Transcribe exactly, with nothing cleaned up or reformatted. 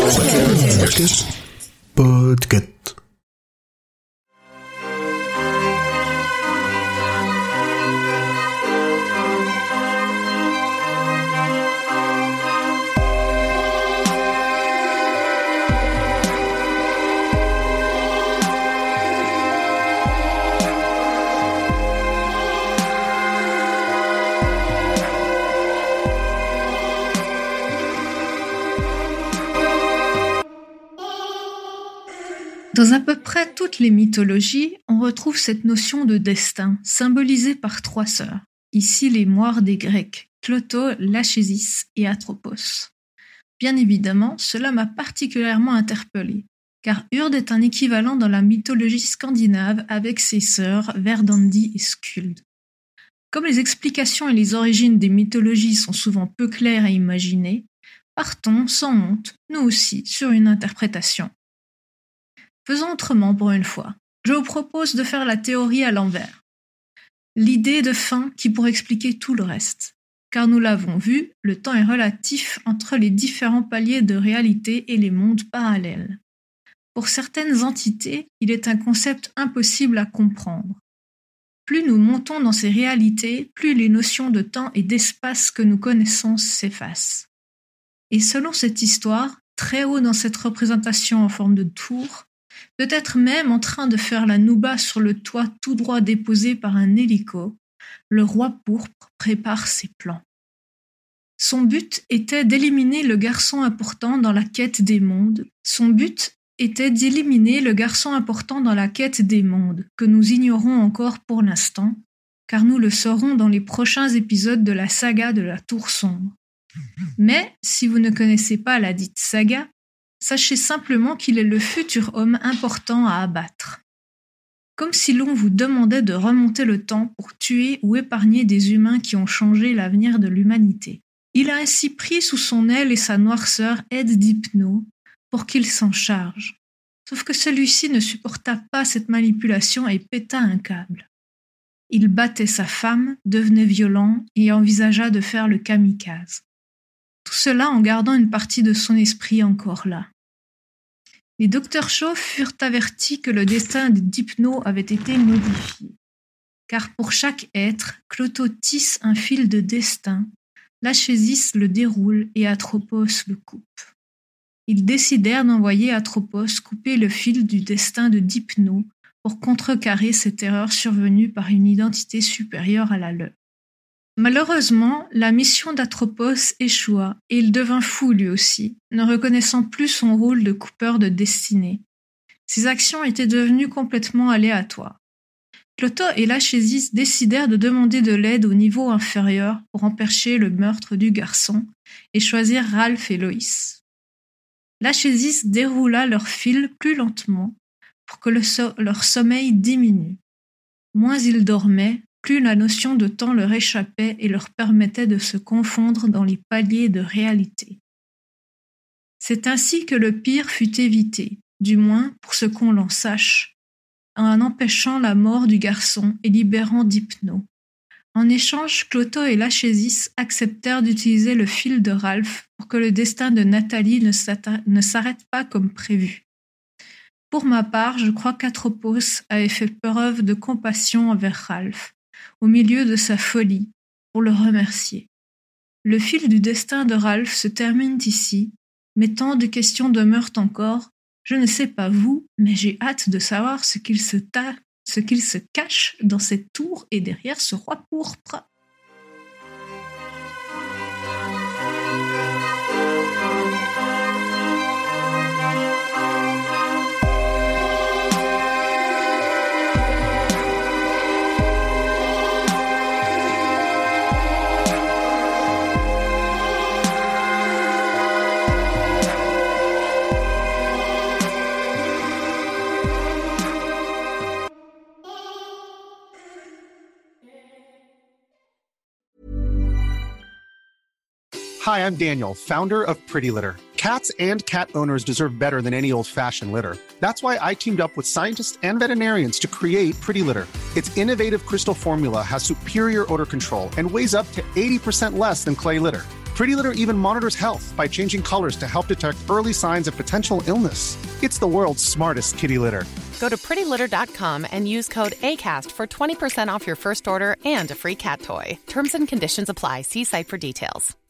Podcast. Podcast. Dans à peu près toutes les mythologies, on retrouve cette notion de destin, symbolisée par trois sœurs. Ici les moires des Grecs, Cloto, Lachésis et Atropos. Bien évidemment, cela m'a particulièrement interpellée, car Urd est un équivalent dans la mythologie scandinave avec ses sœurs Verdandi et Skuld. Comme les explications et les origines des mythologies sont souvent peu claires à imaginer, partons sans honte, nous aussi, sur une interprétation. Faisons autrement pour une fois. Je vous propose de faire la théorie à l'envers. L'idée de fin qui pourrait expliquer tout le reste. Car nous l'avons vu, le temps est relatif entre les différents paliers de réalité et les mondes parallèles. Pour certaines entités, il est un concept impossible à comprendre. Plus nous montons dans ces réalités, plus les notions de temps et d'espace que nous connaissons s'effacent. Et selon cette histoire, très haut dans cette représentation en forme de tour, peut-être même en train de faire la nouba sur le toit tout droit déposé par un hélico, le roi pourpre prépare ses plans. Son but était d'éliminer le garçon important dans la quête des mondes. Son but était d'éliminer le garçon important dans la quête des mondes, que nous ignorons encore pour l'instant, car nous le saurons dans les prochains épisodes de la saga de la Tour Sombre. Mais, si vous ne connaissez pas la dite saga, sachez simplement qu'il est le futur homme important à abattre. Comme si l'on vous demandait de remonter le temps pour tuer ou épargner des humains qui ont changé l'avenir de l'humanité. Il a ainsi pris sous son aile et sa noirceur Ed d'Hypno pour qu'il s'en charge. Sauf que celui-ci ne supporta pas cette manipulation et péta un câble. Il battait sa femme, devenait violent et envisagea de faire le kamikaze. Tout cela en gardant une partie de son esprit encore là. Les docteurs Shaw furent avertis que le destin d'Hypno avait été modifié. Car pour chaque être, Cloto tisse un fil de destin, Lachésis le déroule et Atropos le coupe. Ils décidèrent d'envoyer Atropos couper le fil du destin de Hypno pour contrecarrer cette erreur survenue par une identité supérieure à la leur. Malheureusement, la mission d'Atropos échoua et il devint fou lui aussi, ne reconnaissant plus son rôle de coupeur de destinée. Ses actions étaient devenues complètement aléatoires. Cloto et Lachésis décidèrent de demander de l'aide au niveau inférieur pour empêcher le meurtre du garçon et choisir Ralph et Loïs. Lachésis déroula leur fil plus lentement pour que le so- leur sommeil diminue. Moins ils dormaient, plus la notion de temps leur échappait et leur permettait de se confondre dans les paliers de réalité. C'est ainsi que le pire fut évité, du moins pour ce qu'on l'en sache, en empêchant la mort du garçon et libérant d'Hypno. En échange, Cloto et Lachésis acceptèrent d'utiliser le fil de Ralph pour que le destin de Nathalie ne, ne s'arrête pas comme prévu. Pour ma part, je crois qu'Atropos avait fait preuve de compassion envers Ralph, au milieu de sa folie, pour le remercier. Le fil du destin de Ralph se termine ici, mais tant de questions demeurent encore. Je ne sais pas vous, mais j'ai hâte de savoir ce qu'il se, ta- ce qu'il se cache dans cette tour et derrière ce roi pourpre. Hi, I'm Daniel, founder of Pretty Litter. Cats and cat owners deserve better than any old-fashioned litter. That's why I teamed up with scientists and veterinarians to create Pretty Litter. Its innovative crystal formula has superior odor control and weighs up to eighty percent less than clay litter. Pretty Litter even monitors health by changing colors to help detect early signs of potential illness. It's the world's smartest kitty litter. Go to pretty litter dot com and use code ACAST for twenty percent off your first order and a free cat toy. Terms and conditions apply. See site for details.